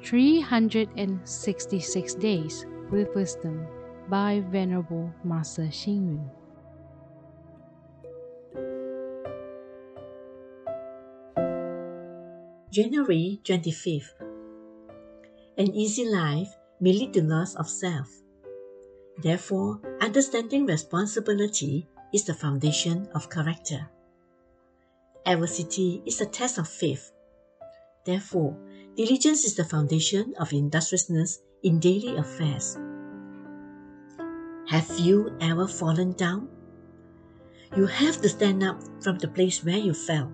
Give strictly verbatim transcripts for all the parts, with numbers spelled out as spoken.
three hundred sixty-six Days with Wisdom by Venerable Master Xing Yun. January twenty-fifth. An easy life may lead to loss of self. Therefore, understanding responsibility is the foundation of character. Adversity is a test of faith. Therefore, diligence is the foundation of industriousness in daily affairs. Have you ever fallen down? You have to stand up from the place where you fell.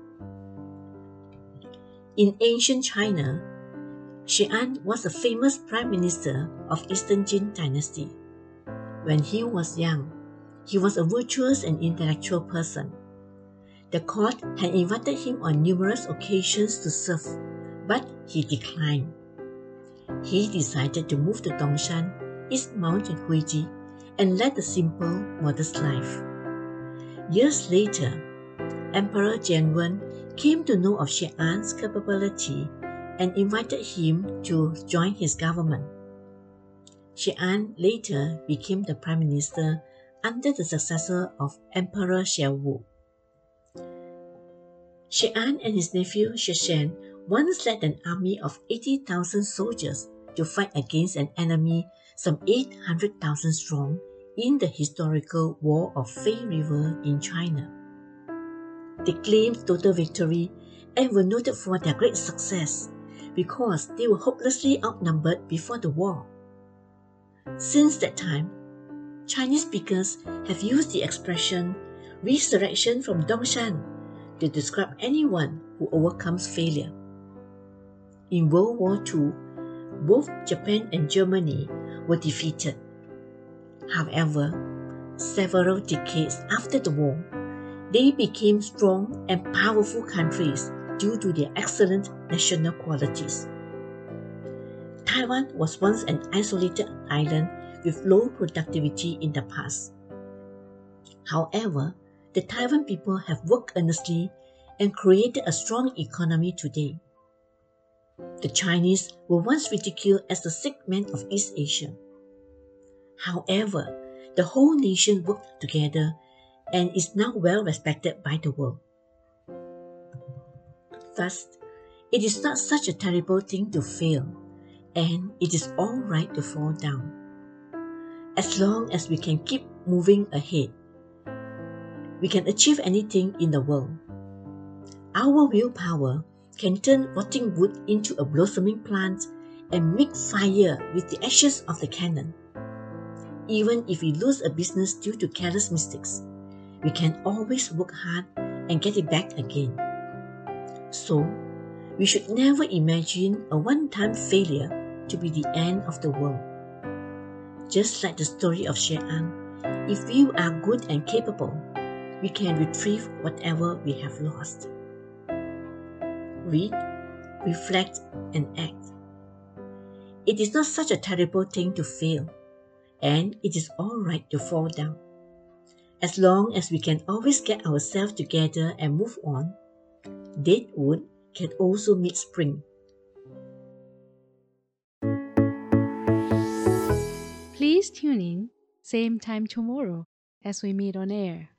In ancient China, Xian was a famous prime minister of Eastern Jin dynasty. When he was young, he was a virtuous and intellectual person. The court had invited him on numerous occasions to serve, but he declined. He decided to move to Dongshan, East Mount Huiji, and led a simple, modest life. Years later, Emperor Jianwen came to know of Xian's capability and invited him to join his government. Xian later became the prime minister under the successor of Emperor Xiaowu. Xian and his nephew Sheshan once led an army of eighty thousand soldiers to fight against an enemy some eight hundred thousand strong in the historical War of Fei River in China. They claimed total victory and were noted for their great success because they were hopelessly outnumbered before the war. Since that time, Chinese speakers have used the expression resurrection from Dongshan to describe anyone who overcomes failure. In World War Two, both Japan and Germany were defeated. However, several decades after the war, they became strong and powerful countries due to their excellent national qualities. Taiwan was once an isolated island with low productivity in the past. However, the Taiwan people have worked earnestly and created a strong economy today. The Chinese were once ridiculed as the sick man of East Asia. However, the whole nation worked together and is now well respected by the world. Thus, it is not such a terrible thing to fail, and it is all right to fall down. As long as we can keep moving ahead, we can achieve anything in the world. Our willpower can turn rotting wood into a blossoming plant and make fire with the ashes of the cannon. Even if we lose a business due to careless mistakes, we can always work hard and get it back again. So, we should never imagine a one-time failure to be the end of the world. Just like the story of Xian, if we are good and capable, we can retrieve whatever we have lost. Read, reflect, and act. It is not such a terrible thing to fail, and it is all right to fall down. As long as we can always get ourselves together and move on, dead wood can also meet spring. Please tune in, same time tomorrow as we meet on air.